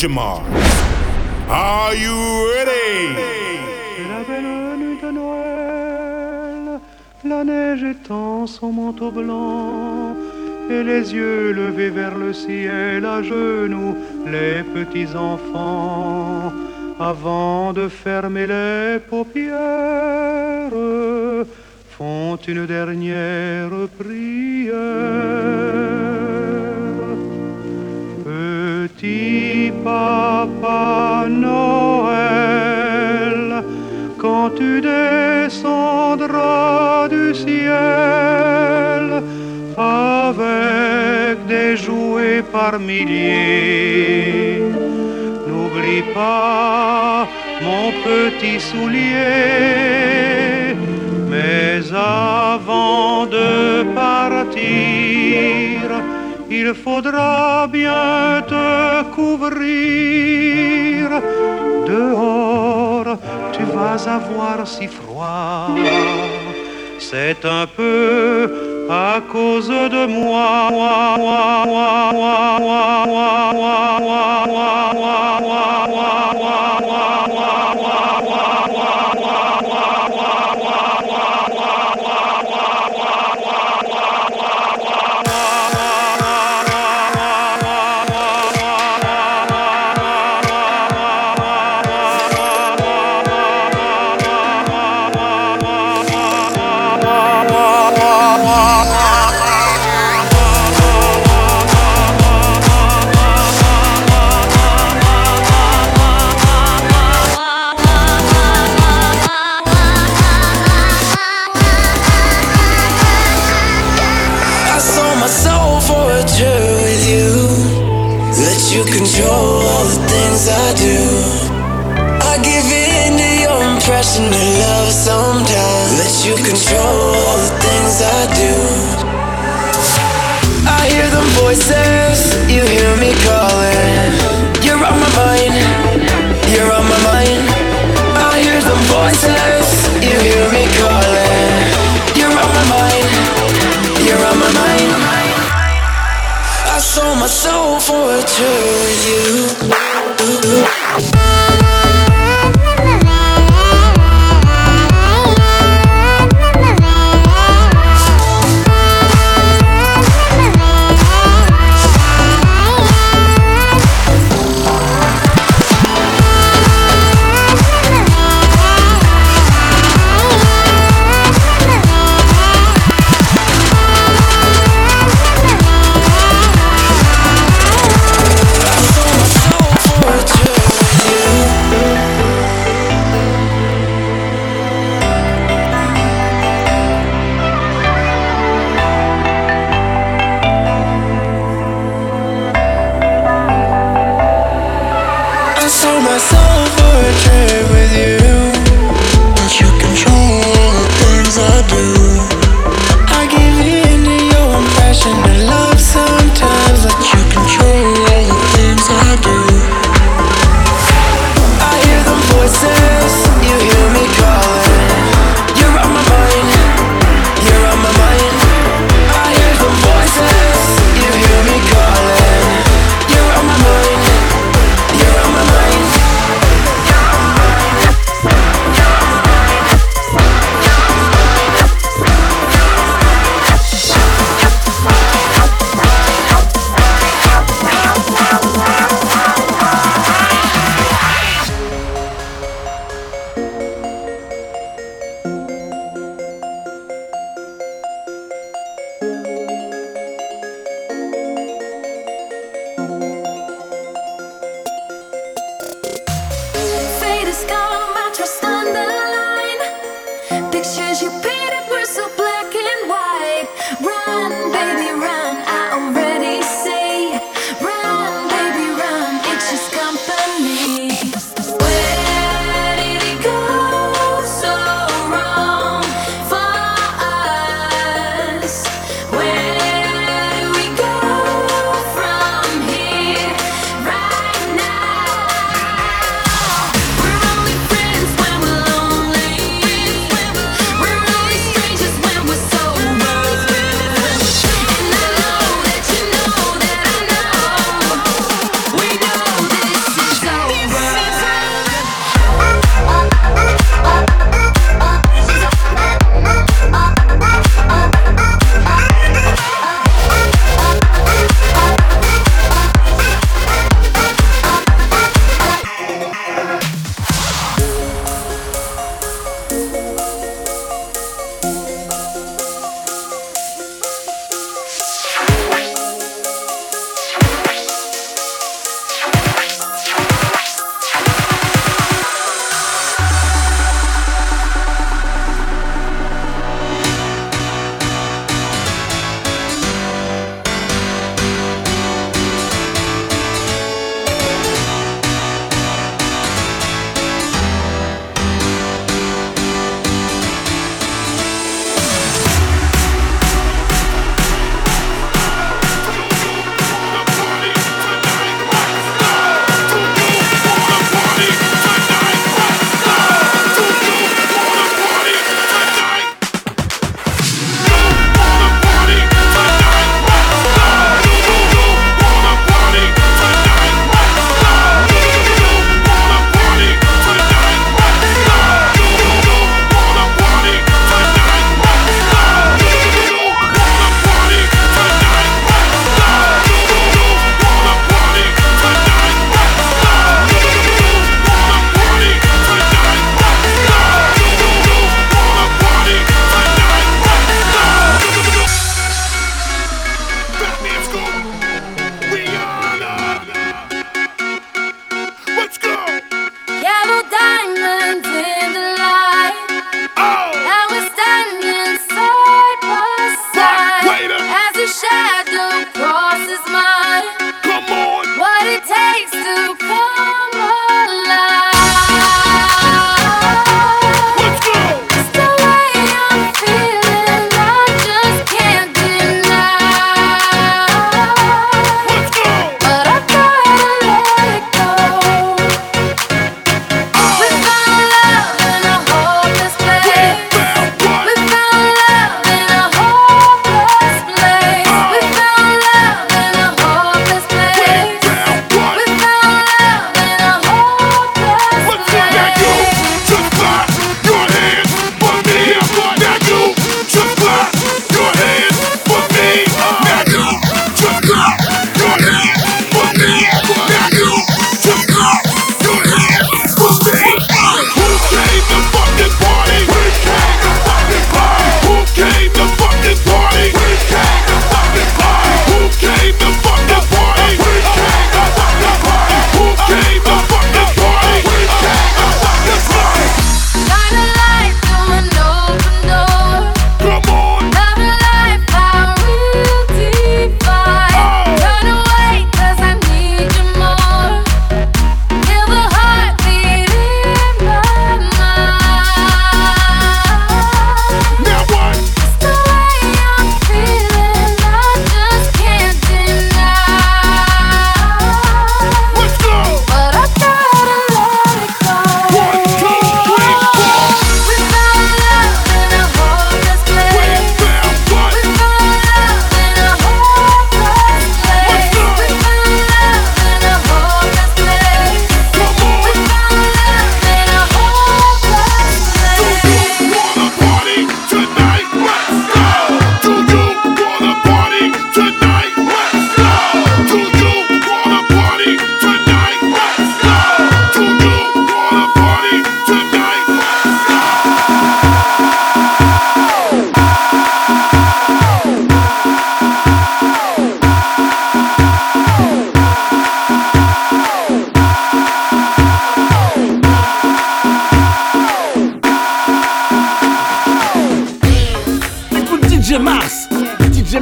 your marks. Are you ready? C'est la belle nuit de Noël, la neige étend son manteau blanc, et les yeux levés vers le ciel, à genoux les petits enfants, avant de fermer les paupières, font une dernière prière. Petit Papa Noël, quand tu descendras du ciel avec des jouets par milliers, n'oublie pas mon petit soulier. Mais avant de partir, il faudra bien te couvrir. Dehors, tu vas avoir si froid. C'est un peu à cause de moi. You control all the things I do. I give in to your impression of love sometimes. Let you control all the things I do. I hear them voices, you hear me calling. You're on my mind, you're on my mind. I hear them voices, you hear me calling. You're on my mind, you're on my mind. I sold my soul for a tour with you.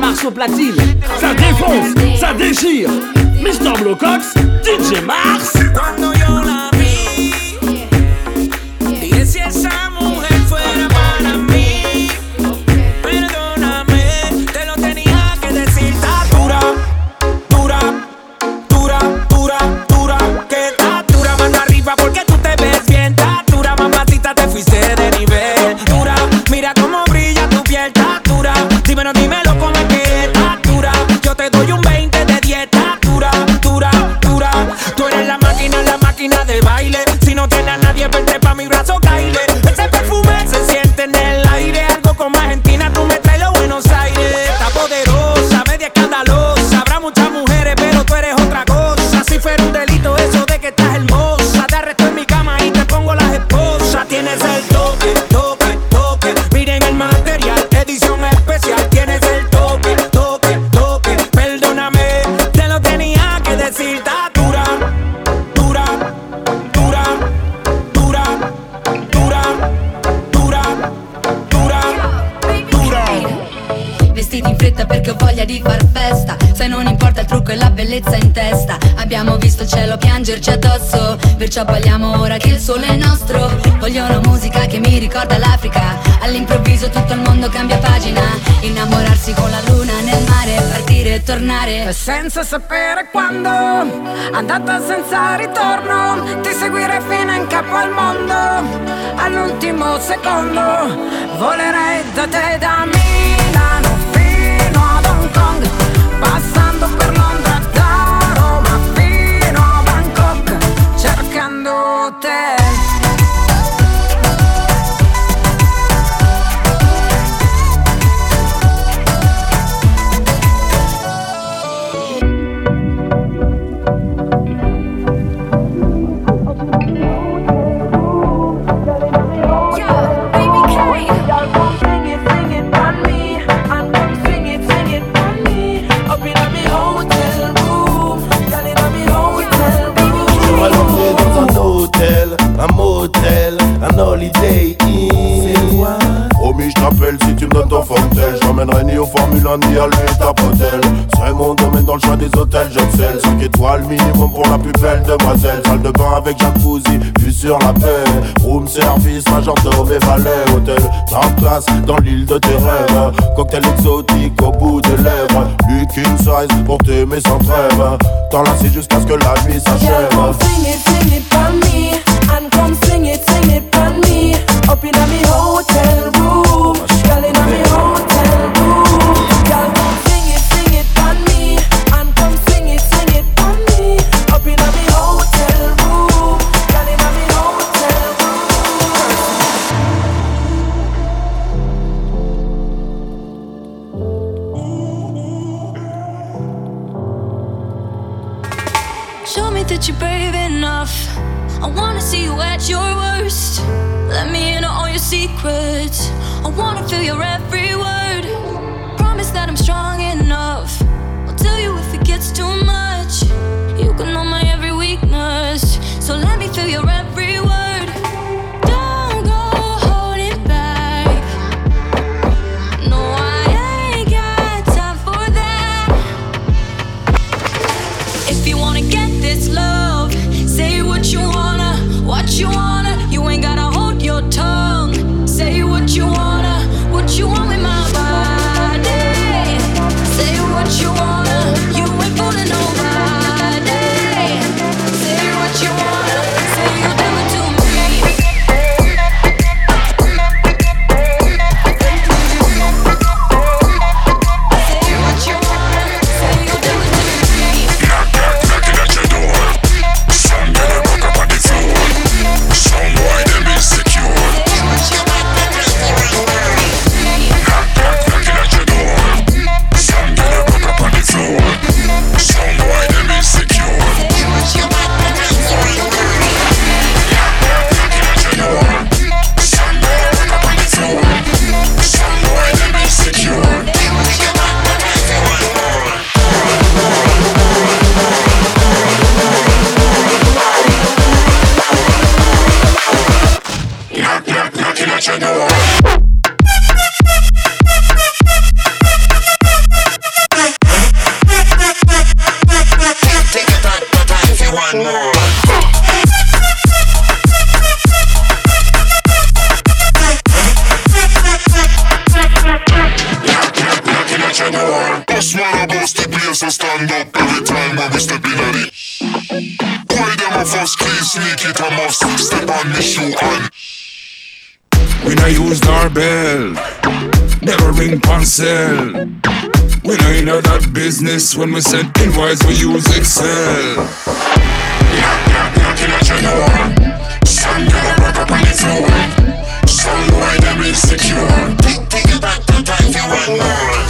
Mars au platine. Ça défonce, ça déchire. Mr. Blocox, DJ Mars. Cuando yo la vi, dije si esa mujer fuera para mí. Perdóname, te lo tenía que decir. Está dura, dura, dura, dura, dura. Que está dura, mano arriba porque tú te ves bien. Está dura, mamacita, te fuiste de nivel. Dura, mira cómo brilla tu piel. Está dura, dímelo, dímelo cómo es que está dura. Yo te doy un 20 de dieta. Dura, dura, dura. Tú eres la máquina de baile. Si no tienes a nadie, vente pa' mi brazo, caile. Ese perfume se siente en el aire. Algo como Argentina, tú me traes los Buenos Aires. Está poderosa, media escandalosa. Habrá muchas mujeres, pero tú eres otra cosa. Si fuera un delito eso de que estás hermosa, te arresto en mi cama y te pongo las esposas. Tienes el toque, toque, toque. Miren el material, edición especial. Tienes el toque, toque, toque. Perdóname, te lo tenía que decir. Está dura, dura, dura, dura, dura, dura, dura, dura. Vestiti in fretta perché ho voglia di far festa. Se non importa il trucco e la bellezza in testa. Abbiamo visto il cielo piangerci addosso, perciò balliamo ora che il sole è nostro. Voglio una musica che mi ricorda l'Africa. All'improvviso tutto il mondo cambia pagina. Innamorarsi con la luna nel mare, partire e tornare Senza sapere quando, andata senza ritorno. Ti seguirei fino in capo al mondo. All'ultimo secondo volerei da te, da Milano fino ad Hong Kong, passando per Londra, da Roma fino a Bangkok, cercando te. Un motel, un holiday inn. Oh mais je t'appelle si tu me donnes ton fortel. J'emmènerai ni au Formule 1 ni à l'huile d'Apotel. C'est mon domaine dans le choix des hôtels. J'excelle, 5 étoiles minimum pour la plus belle demoiselle. Salle de bain avec jacuzzi, vue sur la paix. Room service, majordome et valet. Hôtel, 30 places dans l'île de tes rêves. Cocktail exotique au bout des lèvres. Lui king size pour t'aimer sans trêve. T'enlacer jusqu'à ce que la nuit s'achève. Sing it for me, and come sing it for me. Up in me hotel room, girl in me hotel room. Girl, come sing it for me, and come sing it for me. Up in me hotel room, girl in me hotel room. Show me that you're brave enough. I wanna see you at your worst. Let me in on all your secrets. I wanna feel your every word. Promise that I'm strong enough. I'll tell you if it gets too much. You can know my every weakness. So let me feel your every word. Don't go holding back. No, I ain't got time for that. If you wanna get this love, say what you wanna, what you wanna. You ain't gotta hold your tongue. Say what you wanna, what you want with my body. Say what you wanna, you ain't fooling nobody. Say what you wanna, say you'll do it to me. Say what you wanna, say you'll do it to me. Knock, knock, knocking at your door. Some girl walk up on the floor. Some boy them insecure. Knock, knock, knocking at your door. Some girl walk up on the floor. man about the place, so stand up every time when we step in at it. Why them a first please sneak it a must step on the shoe and we no use doorbell, never ring parcel. We no in that business. When we send invoice we use Excel. Knocking at your door. Some girl back up on the floor. Some boy them insecure. Take it back to time for one more.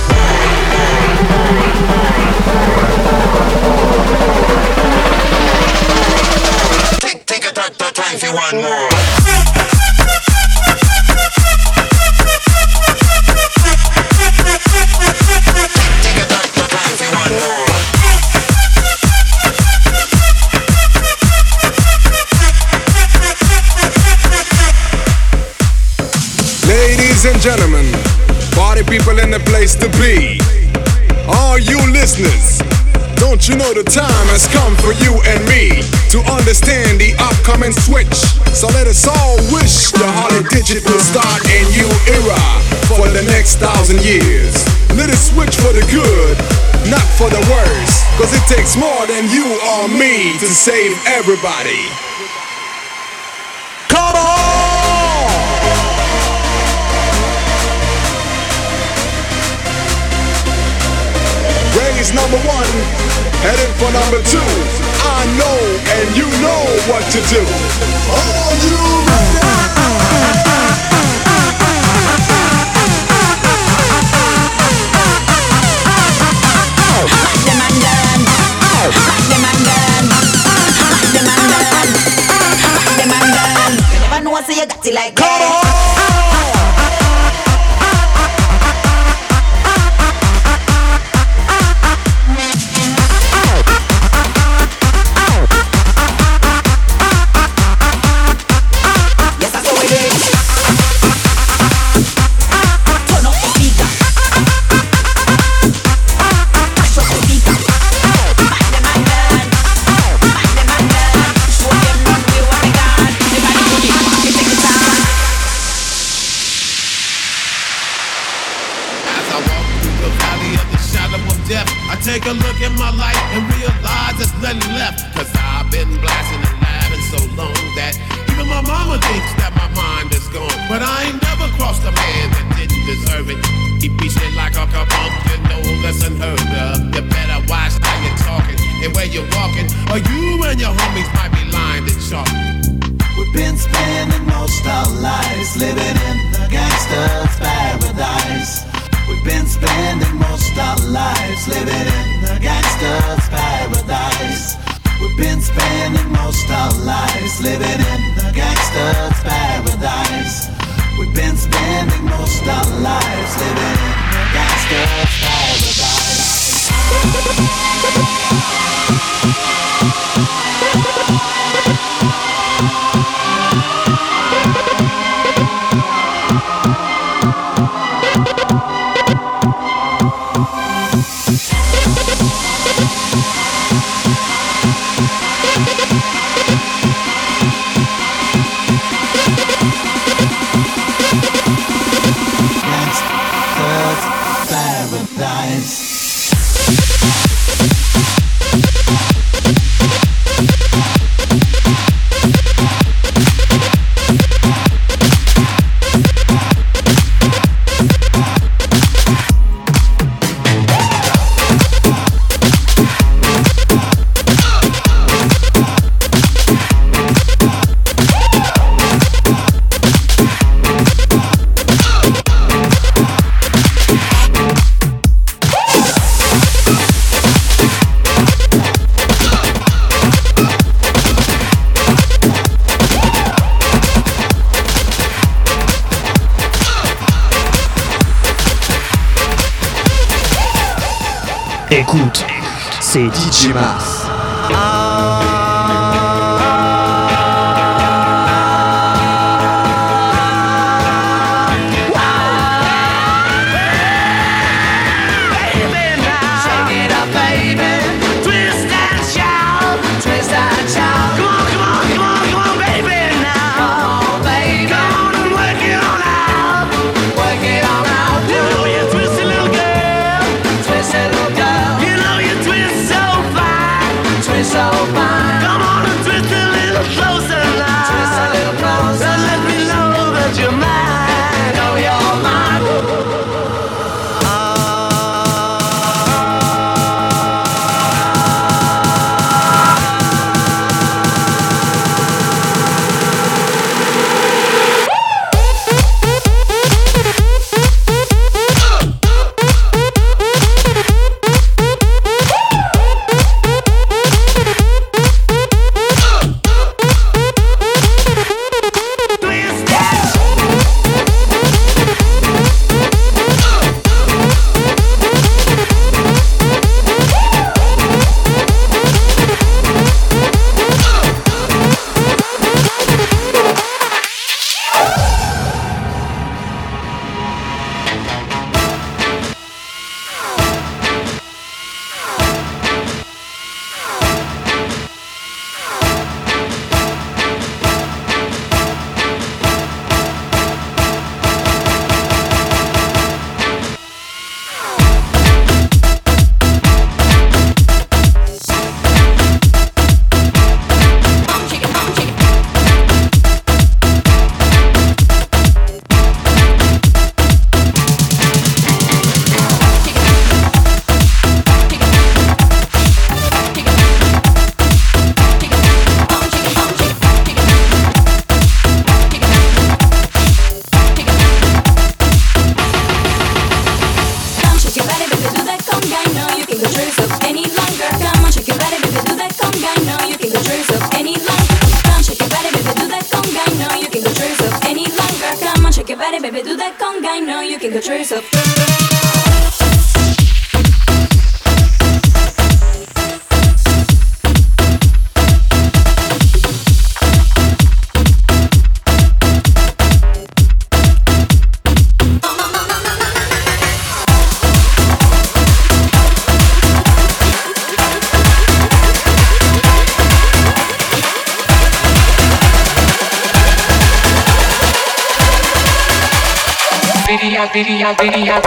Take it back to time for one more. Ladies and gentlemen, party people in the place to be. All you listeners, don't you know the time has come for you and me to understand the upcoming switch? So let us all wish the Holly Digital start a new era for the next 1,000 years. Let us switch for the good, not for the worse, cause it takes more than you or me to save everybody. Come on! Raise number 1, headed for number 2. I know and you know what to do. Are you ready? Like come on! Take a look at my life and realize there's nothing left. Cause I've been blasting and laughing so long that even my mama thinks that my mind is gone. But I ain't never crossed a man that didn't deserve it. He be shit like a kabunk, you know that's unheard of. You better watch how you're talking and where you're walking, or you and your homies might be lined and sharp. We've been spending most our lives living in the gangster's paradise. We've been spending most our lives living in the gangster's paradise. We've been spending most our lives living in the gangster's paradise. We've been spending most our lives living in the gangster's paradise. Écoute, c'est DJ Mars. Twist it, little girl. can control yourself. Video.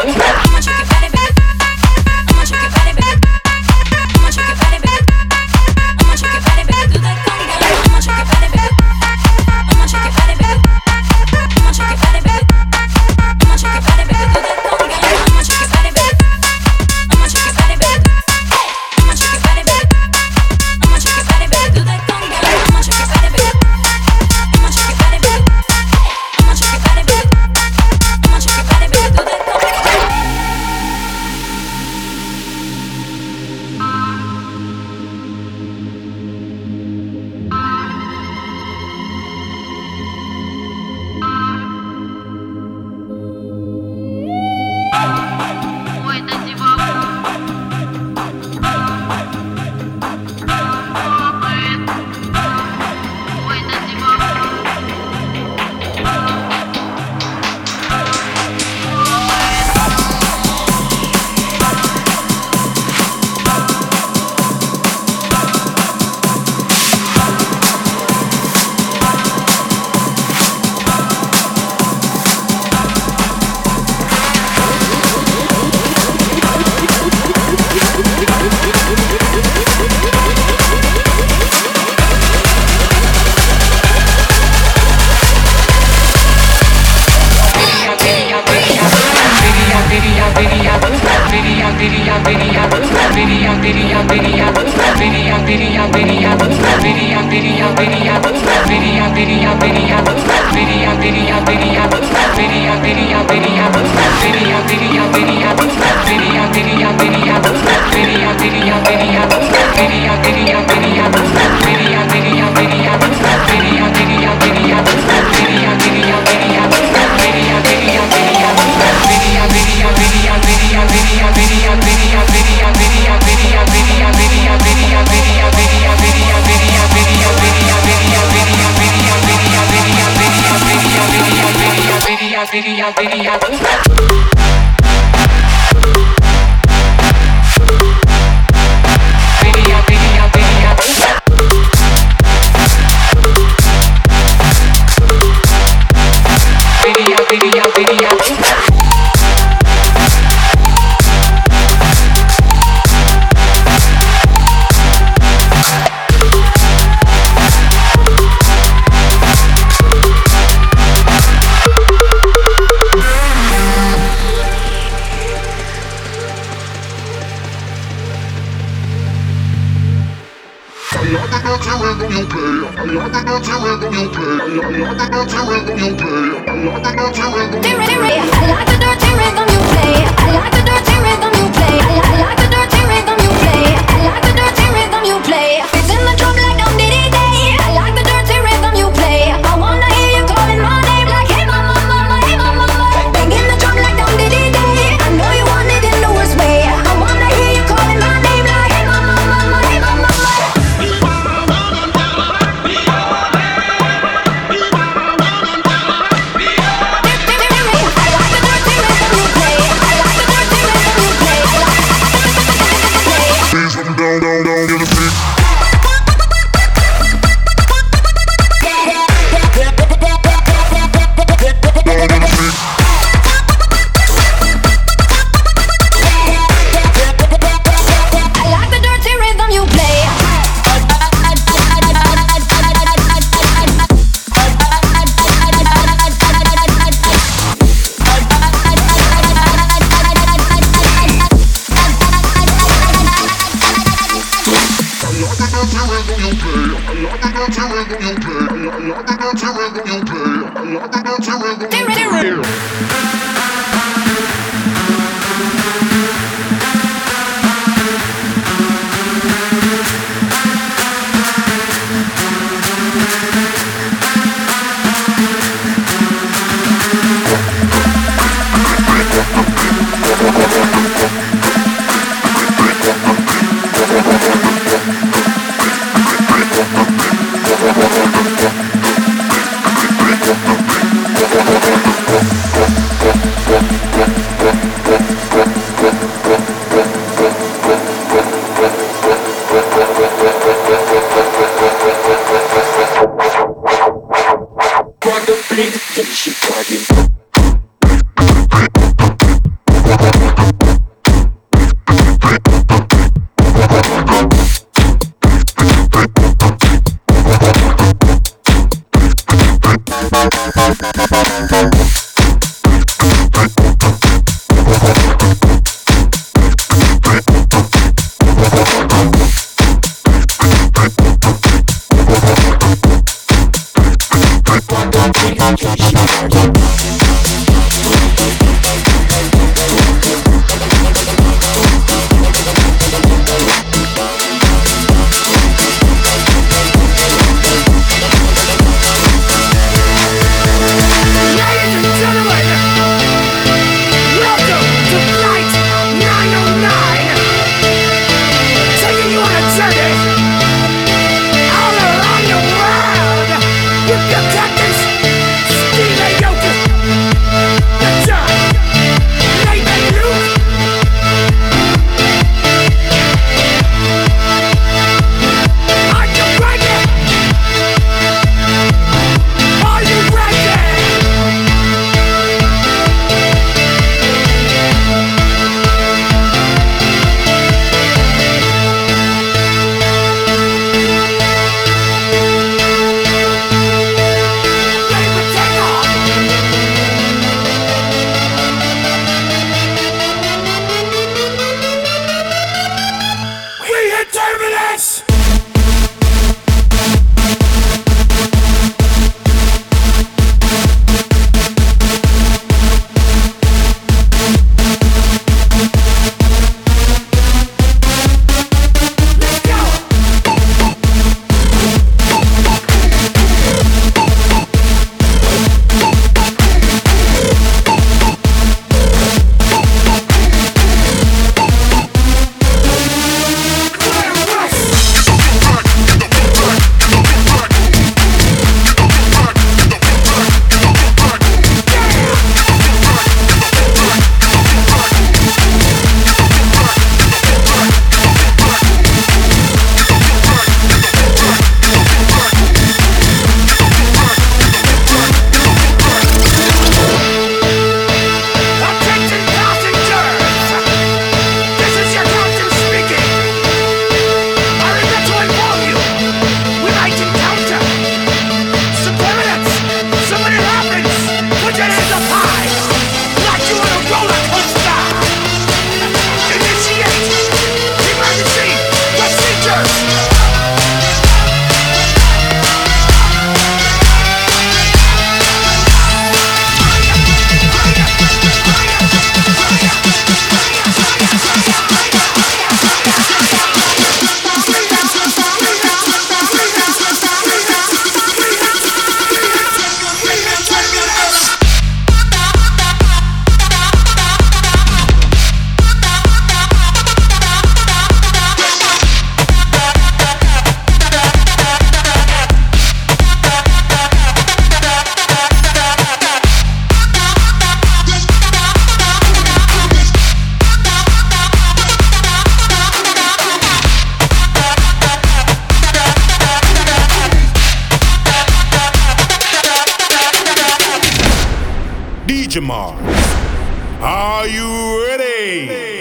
DJ Mars. Are you ready?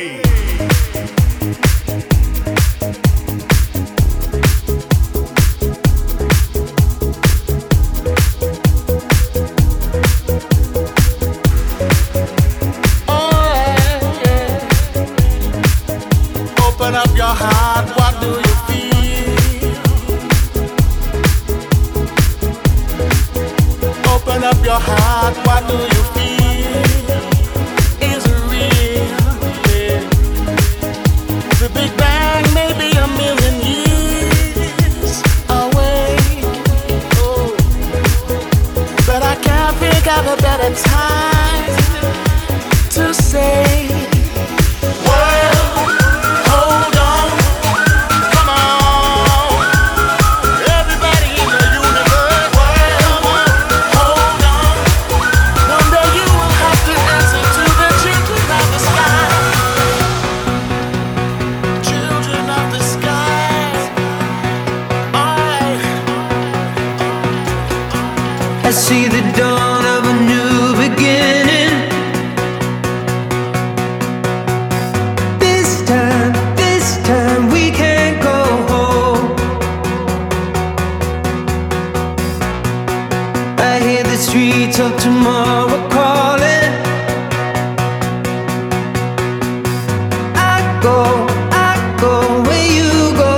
Open up your heart, what do you feel? Open up your heart, what do you feel? Is it real? Yeah. The Big Bang may be a million years away. Oh. But I can't think of a better time to say, I see the dawn of a new beginning. This time we can't go home. I hear the streets of tomorrow calling. I go where you go.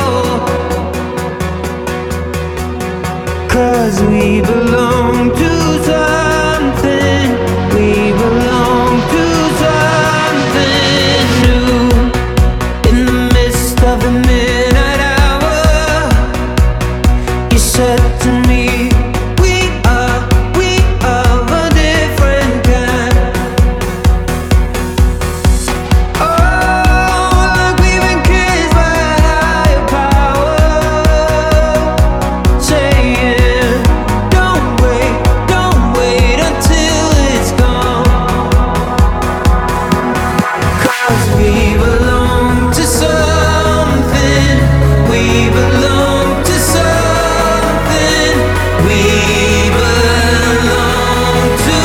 'Cause we belong to something. We belong to something new. In the midst of the midnight hour, you said to me, we are a different kind. Oh, like we've been kissed by a higher power, saying, don't wait until it's gone. 'Cause we belong to something. We belong to something. We belong to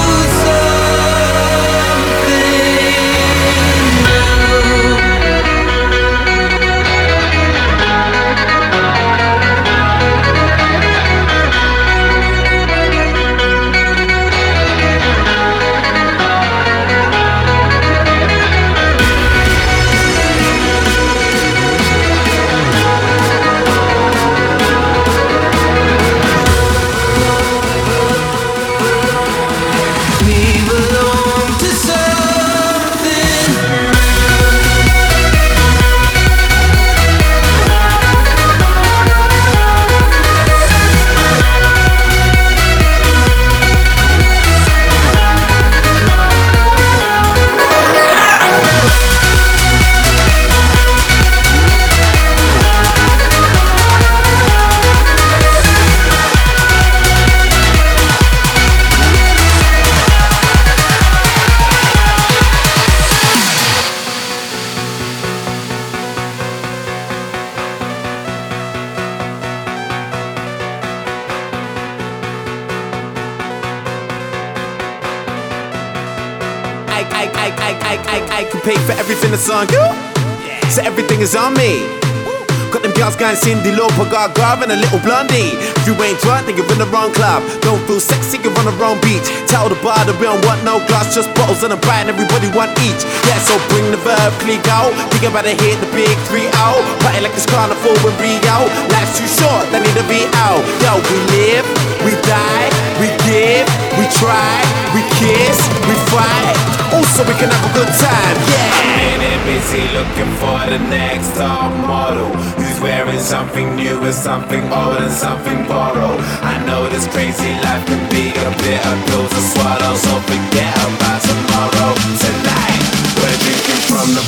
I can pay for everything that's on you. So everything is on me. Got them girls going Cindy Lauper, Gaga and a little blondie. If you ain't drunk, then you're in the wrong club. Don't feel sexy, you're on the wrong beach. Tell the bar that we don't want no glass, just bottles and a bite, and everybody want each. Yeah, so bring the verb, click out. Think about to hit the big 3-0. Party like it's carnival in Rio. Life's too short, they need to be out. Yo, we live, we die, we give, we try, we kiss, we fight. Also, we can have a good time, yeah. I'm in busy looking for the next top model who's wearing something new and something old and something borrowed. I know this crazy life can be a bitter pill to swallow, so forget about tomorrow. Tonight, we're drinking from the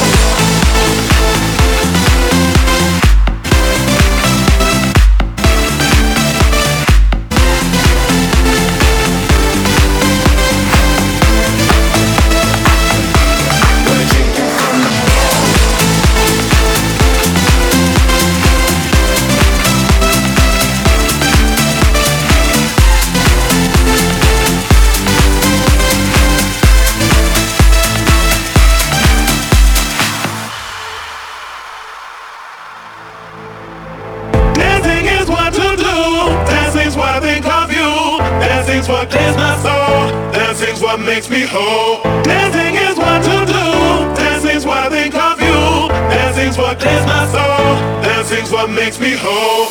bowl. what clears my soul. Dancing's what makes me whole. Dancing is what to do. Dancing's what I think of you. Dancing's what clears my soul. Dancing's what makes me whole.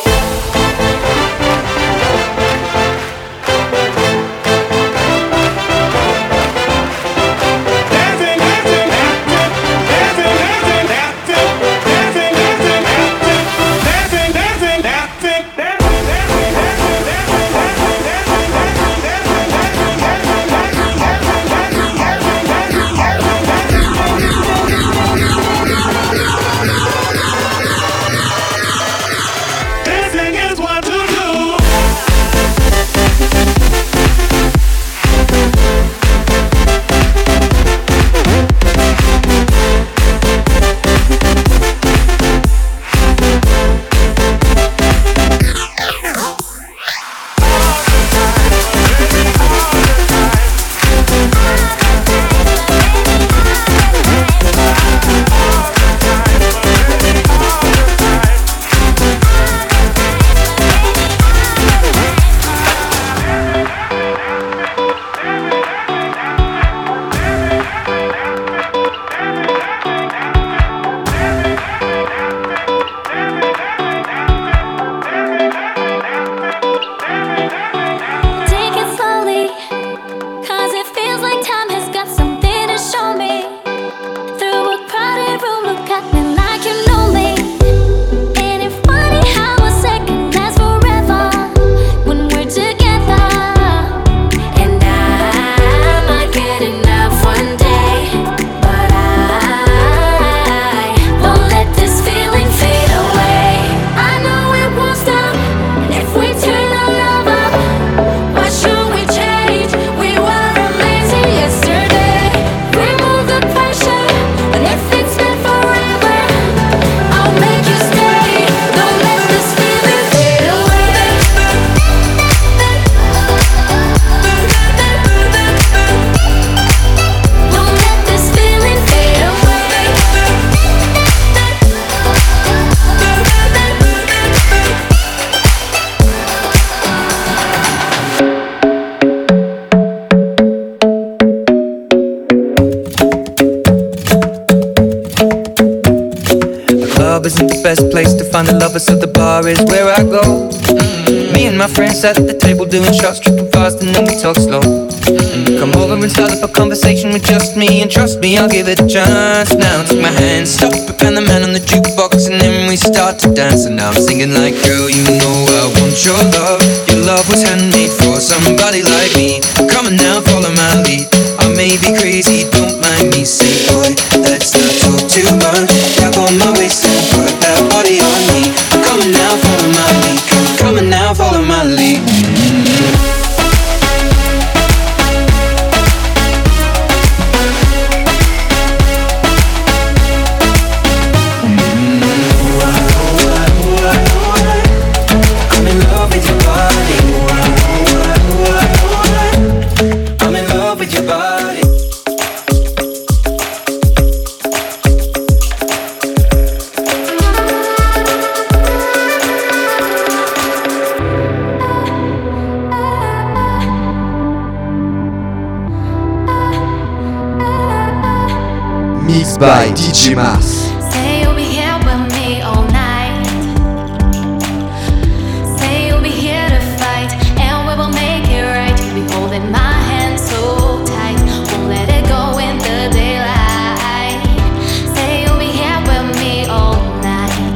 find the lovers, so the bar is where I go. Me and my friends at the table doing shots, tripping fast and then we talk slow. Come over and start up a conversation with just me, and trust me, I'll give it a chance. Now take my hand, stop it, and the man on the jukebox, and then we start to dance. And now I'm singing like, girl, you know I want your love. Your love was handmade for somebody like me. Come on now, follow my lead. I may be crazy, don't mind me. Say, boy, let's not talk too much. Grab on my waist and put that body on me. Come on now, follow my lead. Come on now, follow my lead. Mixed by DJ Mars. Say you'll be here with me all night. Say you'll be here to fight, and we will make it right. You'll be holding my hand so tight, won't let it go in the daylight. Say you'll be here with me all night.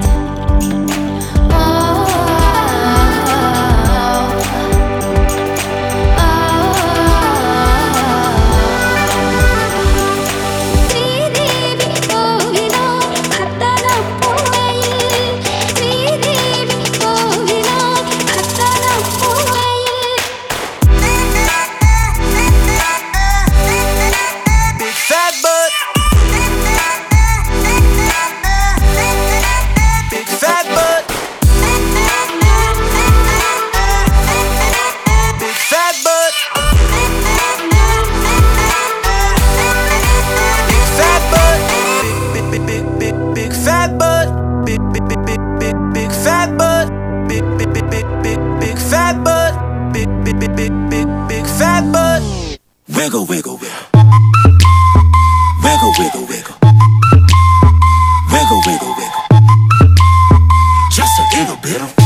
Oh, oh, oh. Wiggle, wiggle, wiggle. Wiggle, wiggle, wiggle. Wiggle, wiggle, wiggle. Just a little bit of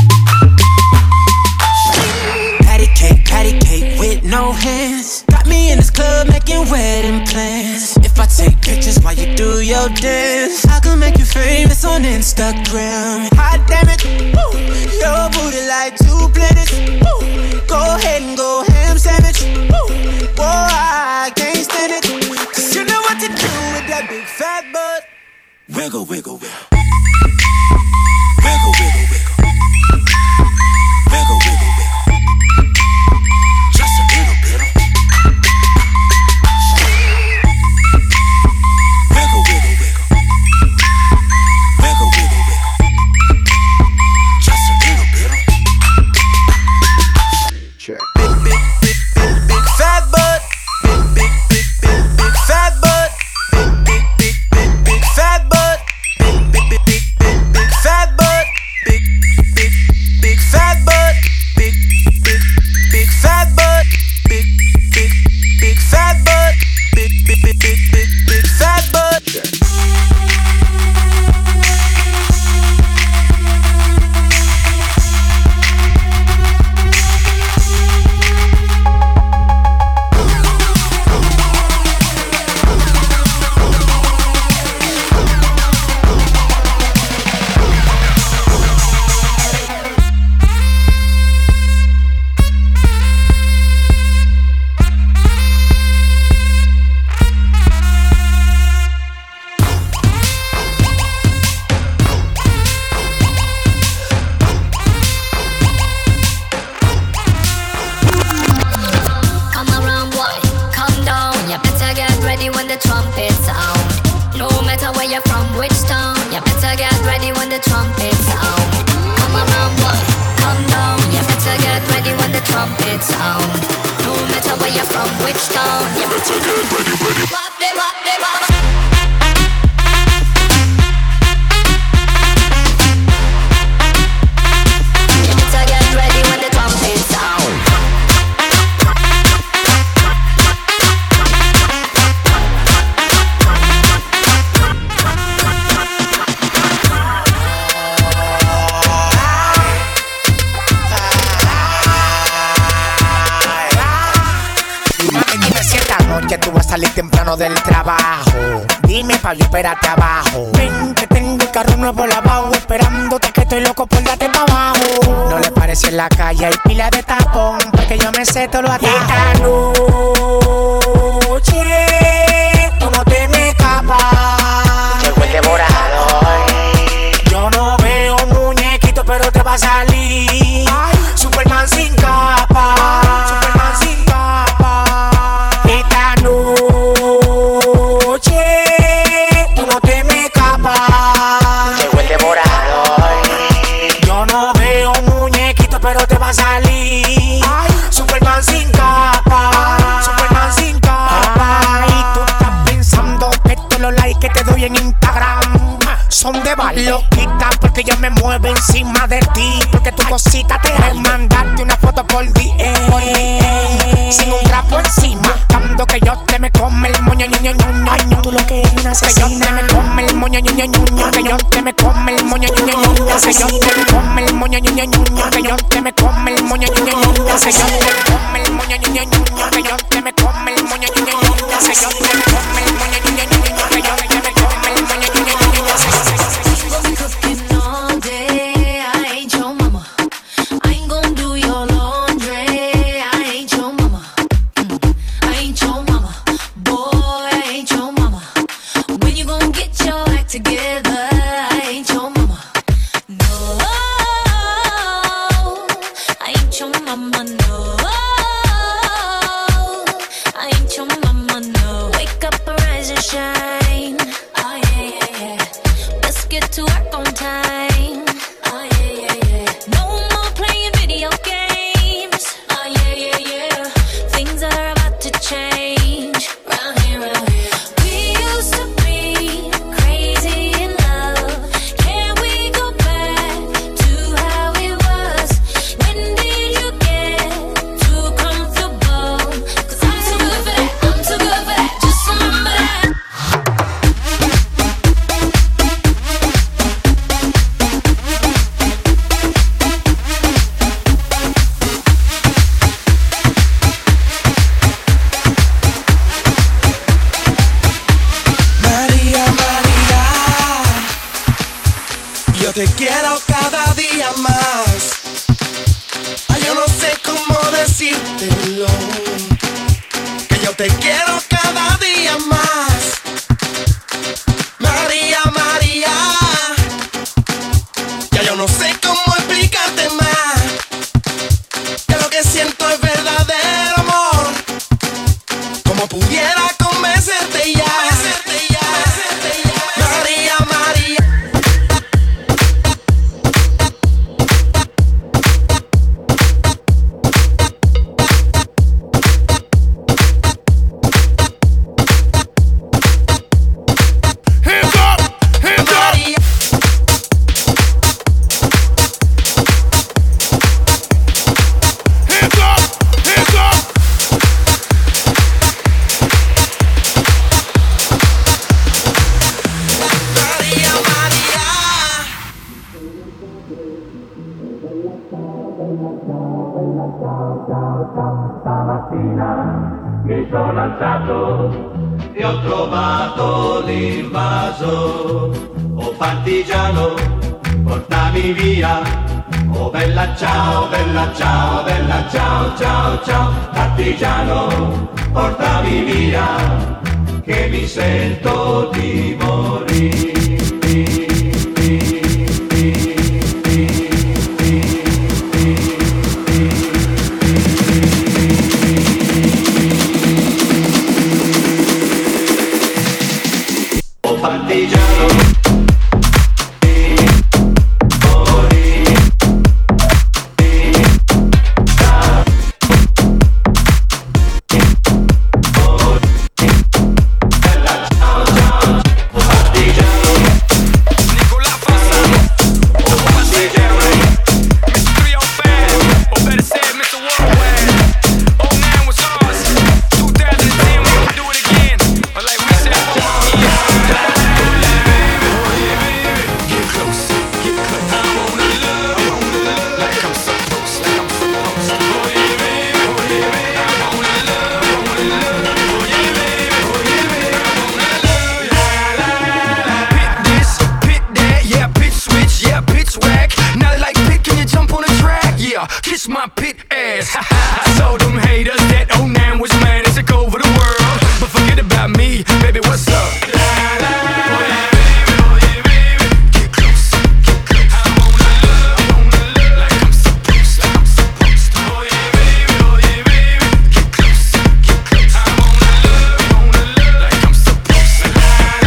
patty cake with no hands. Got me in this club making wedding plans. If I take pictures while you do your dance, I can make you famous on Instagram. Hot damn it, woo. Your booty like 2 planets. Woo. Go ahead and go ham sandwich. Woo. Boy, I can't stand it. Cause you know what to do with that big fat butt. Wiggle, wiggle, wiggle. Wiggle, wiggle, wiggle. Wiggle, wiggle, wiggle. Just a little bit of wiggle, wiggle, wiggle. Wiggle, wiggle, wiggle. Just a little bit of check. Big, big, big, big, big fat butt. Big, big, big, big, big fat butt. Big, big, big, big, big fat butt. Big, big, big, big, big, big fat butt. Big, big, big fat butt. Big, big, big fat butt. Big, big, big fat butt. Big, big, big, big, big, big fat butt. Come around, boy, come down. You better get ready when the trumpet sound. No matter where you're from, which town, you better get ready when the trumpet sound. Come around, boy, come down. You better get ready when the trumpet sound. No matter where you're from, which town, you better get ready, ready. Wop, de, wop, de, wop. You better get ready when the trumpet sound. Dime si esta noche tú vas a salir temprano del trabajo. Dime pa' yo espérate abajo. Ven que tengo el carro nuevo lavado, esperándote que estoy loco por darte pa' abajo. No le parece en la calle, hay pila de tapón, porque yo me sé todo lo atajo. Esta noche tú no te me escapas. Llegó el devorador. Yo no veo muñequito, pero te va a salir Superman sin capa. Superman sin capa. Esta noche tú no te me escapas. Llegó el devorador. Yo no veo muñequito, pero te va a salir Superman sin capa. Superman sin capa. Y tú estás pensando que todos los likes que te doy en Instagram son de loquita, porque yo me muevo encima de ti, porque tu cosita te da mandarte una foto por DM sin un trapo encima, buscando que yo te me come el moño, ño, ño, ño, ño. Tú lo que eres una asesina. Que yo te me come el moño, ño, ño, ño, ño. Que yo te me come el moño, ño, ño, ño, ño. Que yo te me come el moño, ño, ño, ño, ño. Que yo te me come el moño, ño, ño, ño, ño. Que yo te me come el moño, ño, ño, ño, ño. Que yo te me come el moño, ño, ño, ño, ño. Que yo te me come el moño, ño, ño, ño, ño. Que yo te me come el moño, ño, ño, ño, ño. Cooking all day, I ain't your mama. I ain't gon' do your laundry. I ain't your mama. I ain't your mama. Boy, I ain't your mama. When you gon' get your act together? I ain't your mama. No, I ain't your mama. No, I ain't your mama. No, wake yo te quiero cada día más. Ay, yo no sé cómo decírtelo, que yo te quiero cada día más. María, María, ya yo no sé cómo explicarte más, que lo que siento es verdadero amor. Como pudiera convencerte ya. María, María. Stamattina mi sono alzato e ho trovato l'invaso. Oh partigiano, portami via. Oh bella ciao, bella ciao, bella ciao, ciao, ciao. Partigiano, portami via, che mi sento di morire. Partigiano, kiss my pit ass. I told them haters that 09 was mine to take over the world, but forget about me, baby, what's up? Get close, get close. I wanna love like I'm supposed to. Oh yeah, baby, get close, get close. I wanna love like I'm supposed to.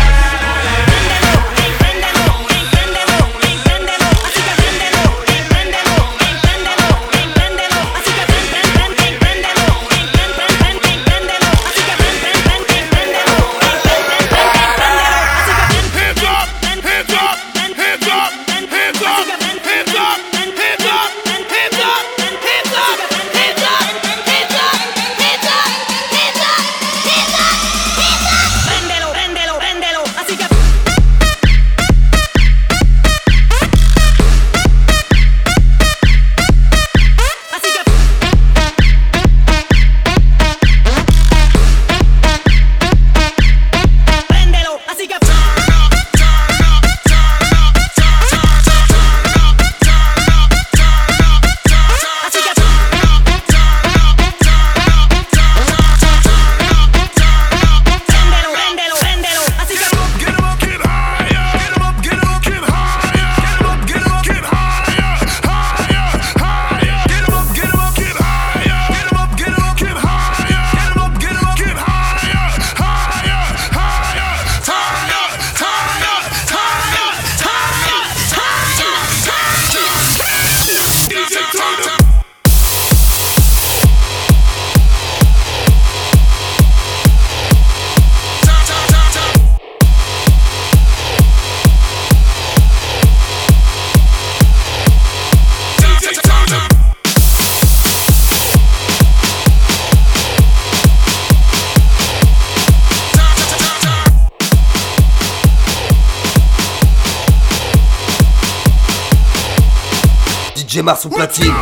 DJ Mars au platine.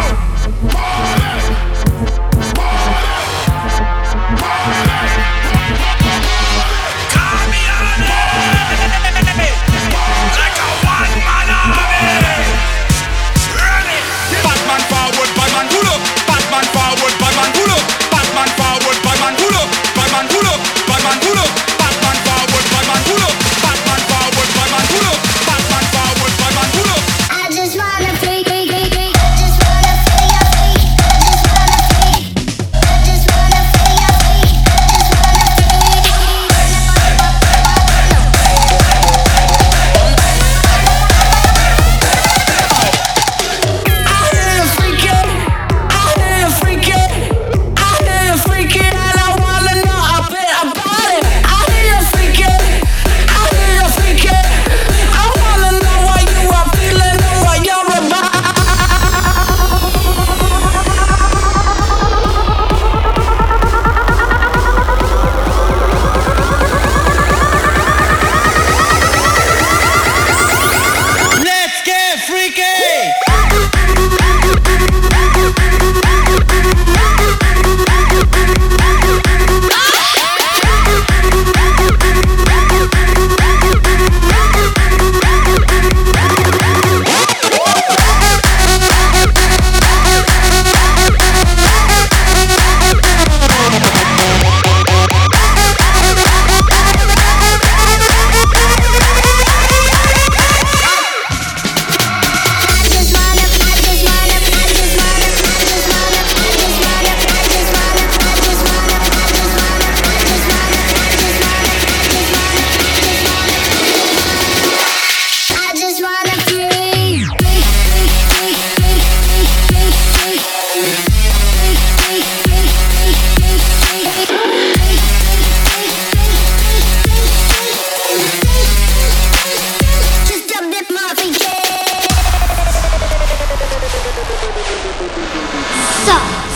Like a one-man army.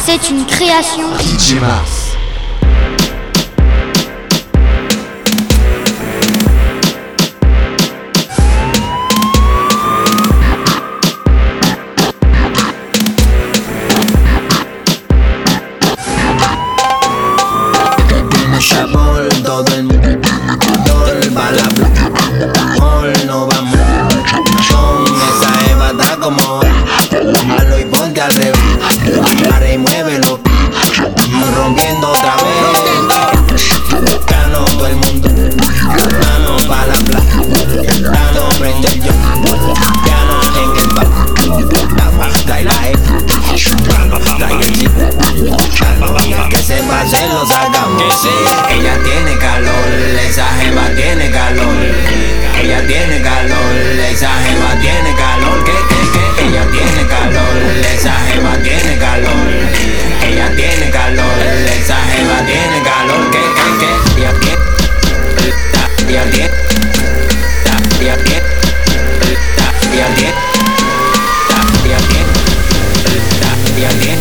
C'est une création DJ Mars. Chabón, todo el mundo va la no vamos con esa Eva está como malo y ponte al revés, para y muévelo, rompiendo otra vez, gano todo el mundo, mano pa' la plaza, gano prende el yo, gano en el bar, trae la E, trae el chico, que se pase lo sacamos. Ella tiene calor, esa jeva tiene calor. Ella tiene calor, esa jeva tiene calor. Que ella tiene calor, esa jeva tiene calor. Ella tiene calor, esa jeva tiene calor. Que ella tiene, ella tiene, ella tiene, ella tiene, ella tiene, ella tiene.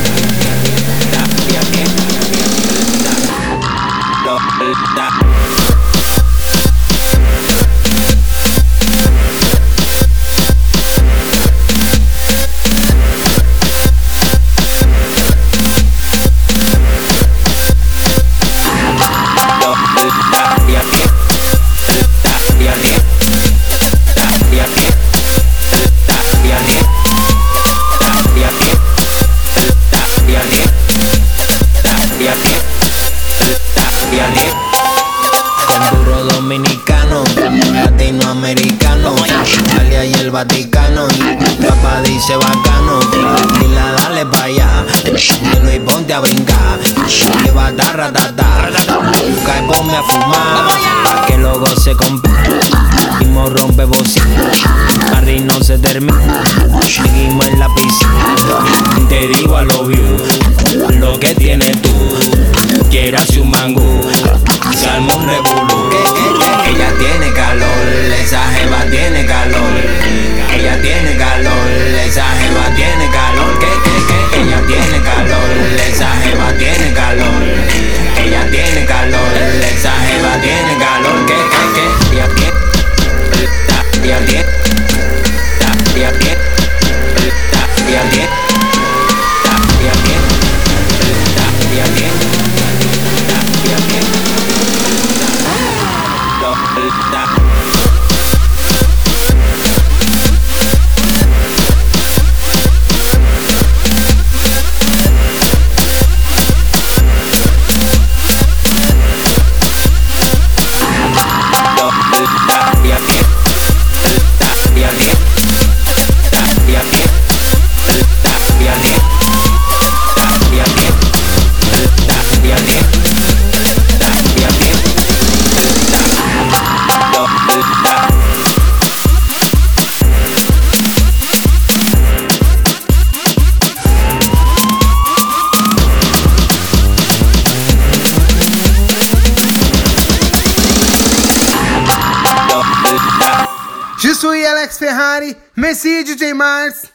Vaticano, papá dice bacano, dila dale pa' allá, y ponte a brincar, lleva tarratata, busca y ponme a fumar, pa' que luego se compre, mismo rompe bocina, Harry no se termina, seguimos en la piscina, te digo a lo view, lo que tienes tú, quieras un mangú, se arma un revolú, que ella tiene calor, esa jeva tiene calor. Ella tiene calor, esa jeva tiene calor. Que ella tiene calor, esa jeva tiene calor. Ella tiene calor, esa jeva tiene calor. Que ella tiene, ella tiene, ella tiene, ella tiene, ella tiene, ella tiene, ella tiene. Je suis Alex Ferrari, merci DJ Mars.